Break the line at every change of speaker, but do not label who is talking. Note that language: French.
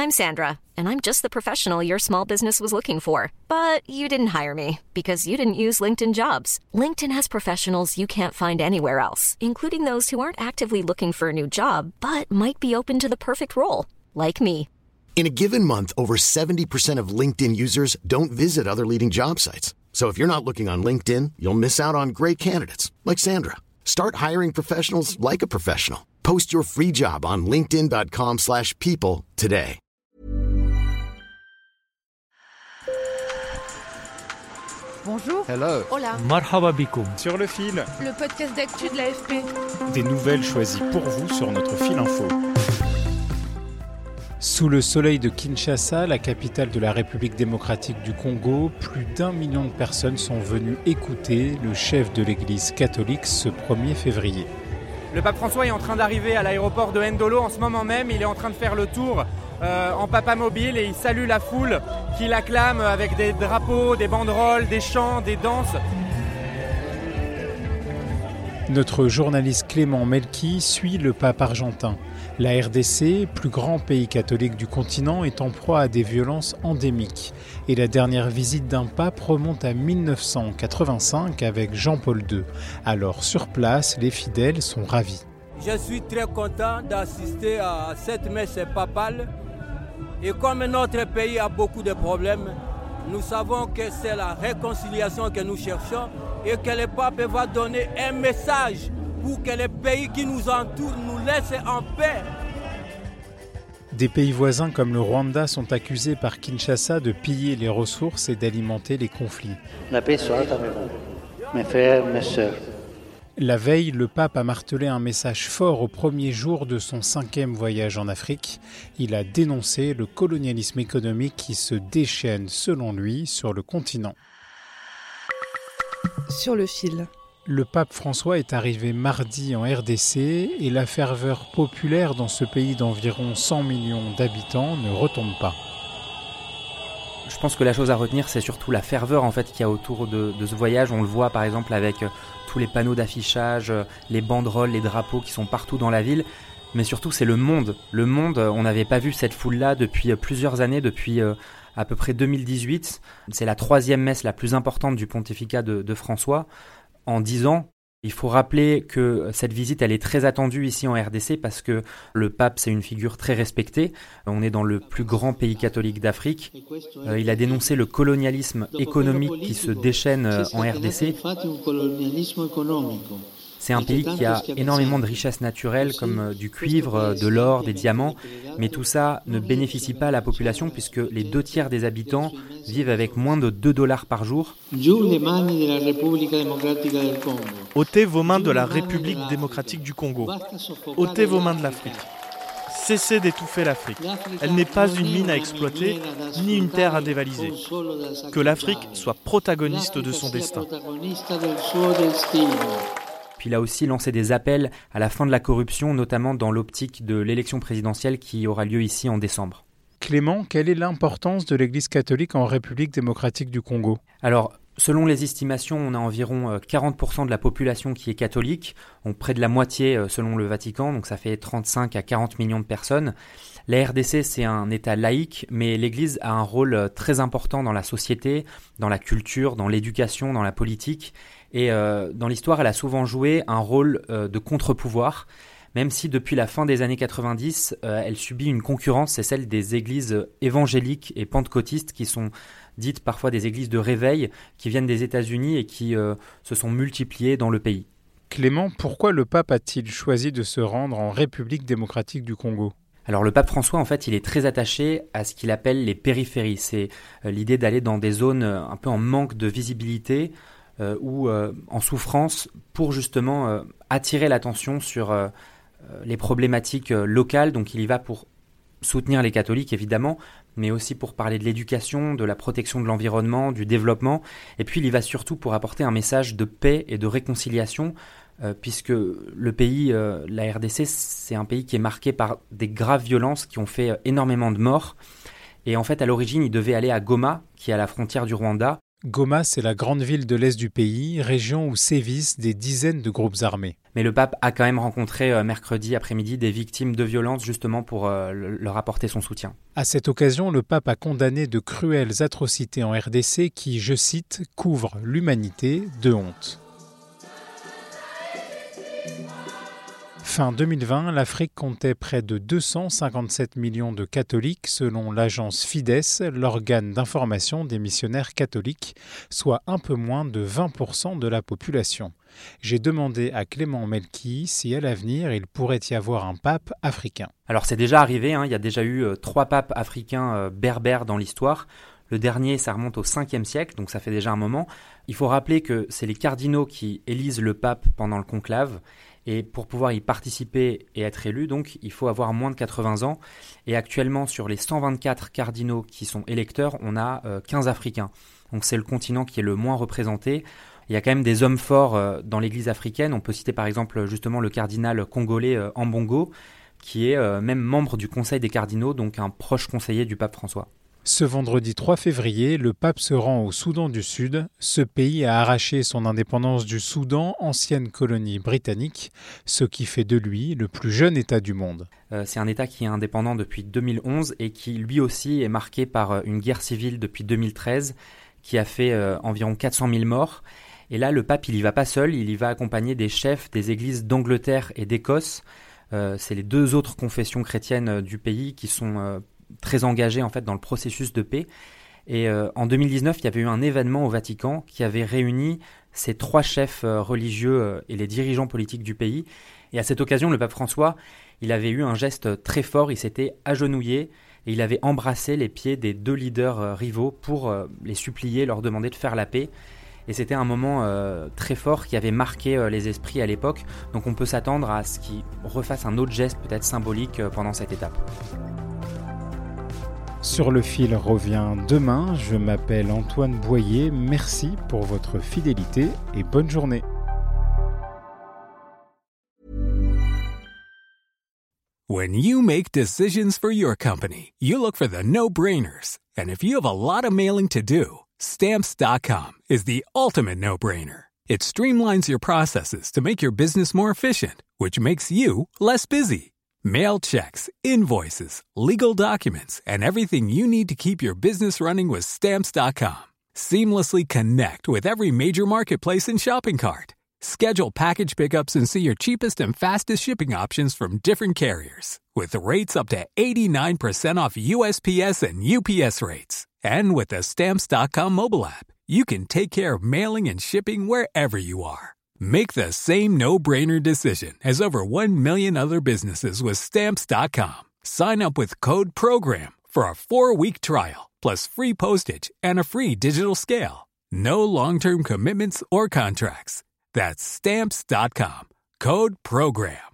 I'm Sandra, and I'm just the professional your small business was looking for. But you didn't hire me because you didn't use LinkedIn Jobs. LinkedIn has professionals you can't find anywhere else, including those who aren't actively looking for a new job, but might be open to the perfect role, like me.
In a given month, over 70% of LinkedIn users don't visit other leading job sites. So if you're not looking on LinkedIn, you'll miss out on great candidates like Sandra. Start hiring professionals like a professional. Post your free job on linkedin.com/people today.
Bonjour.
Hello.
Hola.
Marhaba bikoum.
Sur le fil.
Le podcast d'actu de l'AFP.
Des nouvelles choisies pour vous sur notre fil info.
Sous le soleil de Kinshasa, la capitale de la République démocratique du Congo, plus d'1 million de personnes sont venues écouter le chef de l'église catholique ce 1er février.
Le pape François est en train d'arriver à l'aéroport de Ndolo en ce moment même. Il est en train de faire le tour en papamobile et il salue la foule qui l'acclame avec des drapeaux, des banderoles, des chants, des danses.
Notre journaliste Clément Melki suit le pape argentin. La RDC, plus grand pays catholique du continent, est en proie à des violences endémiques. Et la dernière visite d'un pape remonte à 1985 avec Jean-Paul II. Alors sur place, les fidèles sont ravis.
Je suis très content d'assister à cette messe papale. Et comme notre pays a beaucoup de problèmes, nous savons que c'est la réconciliation que nous cherchons et que le pape va donner un message pour que les pays qui nous entourent nous laissent en paix.
Des pays voisins comme le Rwanda sont accusés par Kinshasa de piller les ressources et d'alimenter les conflits.
La paix soit avec vous, mes frères, mes sœurs.
La veille, le pape a martelé un message fort au premier jour de son 5e voyage en Afrique. Il a dénoncé le colonialisme économique qui se déchaîne, selon lui, sur le continent.
Sur le fil.
Le pape François est arrivé mardi en RDC et la ferveur populaire dans ce pays d'environ 100 millions d'habitants ne retombe pas.
Je pense que la chose à retenir, c'est surtout la ferveur en fait, qu'il y a autour de ce voyage. On le voit par exemple avec tous les panneaux d'affichage, les banderoles, les drapeaux qui sont partout dans la ville. Mais surtout, c'est le monde. Le monde, on n'avait pas vu cette foule-là depuis plusieurs années, depuis à peu près 2018. C'est la 3e messe la plus importante du pontificat de François. En 10 ans, il faut rappeler que cette visite, elle est très attendue ici en RDC parce que le pape, c'est une figure très respectée. On est dans le plus grand pays catholique d'Afrique. Il a dénoncé le colonialisme économique qui se déchaîne en RDC. C'est un pays qui a énormément de richesses naturelles comme du cuivre, de l'or, des diamants, mais tout ça ne bénéficie pas à la population puisque les 2/3 des habitants vivent avec moins de $2 par jour.
Ôtez vos mains de la République démocratique du Congo. Ôtez vos mains de l'Afrique. Cessez d'étouffer l'Afrique. Elle n'est pas une mine à exploiter, ni une terre à dévaliser. Que l'Afrique soit protagoniste de son destin.
Puis il a aussi lancé des appels à la fin de la corruption, notamment dans l'optique de l'élection présidentielle qui aura lieu ici en décembre.
Clément, quelle est l'importance de l'Église catholique en République démocratique du Congo ?
Alors, selon les estimations, on a environ 40% de la population qui est catholique, près de la moitié selon le Vatican, donc ça fait 35 à 40 millions de personnes. La RDC, c'est un État laïque, mais l'Église a un rôle très important dans la société, dans la culture, dans l'éducation, dans la politique. Et dans l'histoire, elle a souvent joué un rôle de contre-pouvoir, même si depuis la fin des années 90, elle subit une concurrence, c'est celle des églises évangéliques et pentecôtistes qui sont dites parfois des églises de réveil, qui viennent des États-Unis et qui se sont multipliées dans le pays.
Clément, pourquoi le pape a-t-il choisi de se rendre en République démocratique du Congo ?
Alors le pape François, en fait, il est très attaché à ce qu'il appelle les périphéries. C'est l'idée d'aller dans des zones un peu en manque de visibilité, ou en souffrance pour justement attirer l'attention sur les problématiques locales. Donc il y va pour soutenir les catholiques évidemment, mais aussi pour parler de l'éducation, de la protection de l'environnement, du développement. Et puis il y va surtout pour apporter un message de paix et de réconciliation, puisque le pays, la RDC, c'est un pays qui est marqué par des graves violences qui ont fait énormément de morts. Et en fait, à l'origine, il devait aller à Goma, qui est à la frontière du Rwanda.
Goma, c'est la grande ville de l'est du pays, région où sévissent des dizaines de groupes armés.
Mais le pape a quand même rencontré mercredi après-midi des victimes de violences justement pour leur apporter son soutien.
À cette occasion, le pape a condamné de cruelles atrocités en RDC qui, je cite, couvrent l'humanité de honte. Fin 2020, l'Afrique comptait près de 257 millions de catholiques selon l'agence Fides, l'organe d'information des missionnaires catholiques, soit un peu moins de 20% de la population. J'ai demandé à Clément Melki si à l'avenir il pourrait y avoir un pape africain.
Alors c'est déjà arrivé, il y a déjà eu 3 papes africains berbères dans l'histoire. Le dernier, ça remonte au 5e siècle, donc ça fait déjà un moment. Il faut rappeler que c'est les cardinaux qui élisent le pape pendant le conclave. Et pour pouvoir y participer et être élu, donc, il faut avoir moins de 80 ans. Et actuellement, sur les 124 cardinaux qui sont électeurs, on a 15 Africains. Donc c'est le continent qui est le moins représenté. Il y a quand même des hommes forts dans l'église africaine. On peut citer par exemple justement le cardinal congolais Ambongo, qui est même membre du Conseil des cardinaux, donc un proche conseiller du pape François.
Ce vendredi 3 février, le pape se rend au Soudan du Sud. Ce pays a arraché son indépendance du Soudan, ancienne colonie britannique, ce qui fait de lui le plus jeune État du monde.
C'est un État qui est indépendant depuis 2011 et qui lui aussi est marqué par une guerre civile depuis 2013 qui a fait environ 400 000 morts. Et là, le pape, il y va pas seul, il y va accompagné des chefs des églises d'Angleterre et d'Écosse. C'est les 2 autres confessions chrétiennes du pays qui sont très engagés en fait dans le processus de paix. Et en 2019, il y avait eu un événement au Vatican qui avait réuni ces 3 chefs religieux et les dirigeants politiques du pays. Et à cette occasion, le pape François, il avait eu un geste très fort, il s'était agenouillé et il avait embrassé les pieds des 2 leaders rivaux pour les supplier, leur demander de faire la paix. Et c'était un moment très fort qui avait marqué les esprits à l'époque. Donc on peut s'attendre à ce qu'il refasse un autre geste peut-être symbolique pendant cette étape.
Sur le fil revient demain. Je m'appelle Antoine Boyer. Merci pour votre fidélité et bonne journée.
When you make decisions for your company, you look for the no-brainers. And if you have a lot of mailing to do, Stamps.com is the ultimate no-brainer. It streamlines your processes to make your business more efficient, which makes you less busy. Mail checks, invoices, legal documents, and everything you need to keep your business running with Stamps.com. Seamlessly connect with every major marketplace and shopping cart. Schedule package pickups and see your cheapest and fastest shipping options from different carriers. With rates up to 89% off USPS and UPS rates. And with the Stamps.com mobile app, you can take care of mailing and shipping wherever you are. Make the same no-brainer decision as over 1 million other businesses with Stamps.com. Sign up with code PROGRAM for a 4-week trial, plus free postage and a free digital scale. No long-term commitments or contracts. That's Stamps.com. Code PROGRAM.